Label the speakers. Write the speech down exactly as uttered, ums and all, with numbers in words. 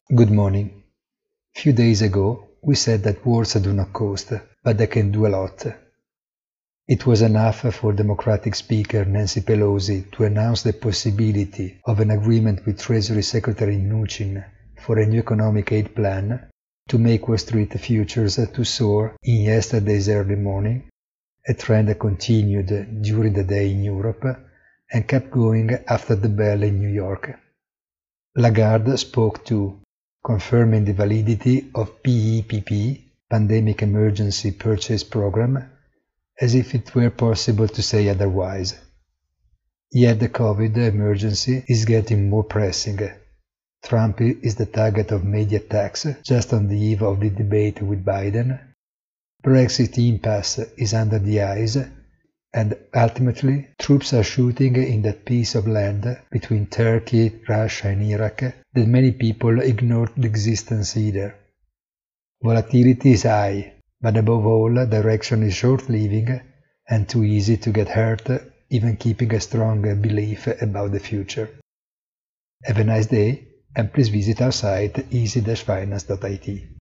Speaker 1: Good morning. Few days ago, we said that words do not cost, but they can do a lot. It was enough for Democratic Speaker Nancy Pelosi to announce the possibility of an agreement with Treasury Secretary Mnuchin for a new economic aid plan to make Wall Street futures to soar in yesterday's early morning, a trend that continued during the day in Europe and kept going after the bell in New York. Lagarde spoke too, confirming the validity of P E P P, Pandemic Emergency Purchase Program, as if it were possible to say otherwise. Yet the COVID emergency is getting more pressing. Trump is the target of media attacks just on the eve of the debate with Biden. Brexit impasse is under the eyes, and ultimately troops are shooting in that piece of land between Turkey, Russia and Iraq that many people ignored the existence either. Volatility is high, but above all direction is short-living and too easy to get hurt even keeping a strong belief about the future. Have a nice day and please visit our site easy dash finance dot I T.